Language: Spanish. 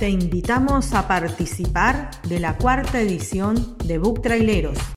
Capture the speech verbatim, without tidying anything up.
Te invitamos a participar de la cuarta edición de Book Traileros.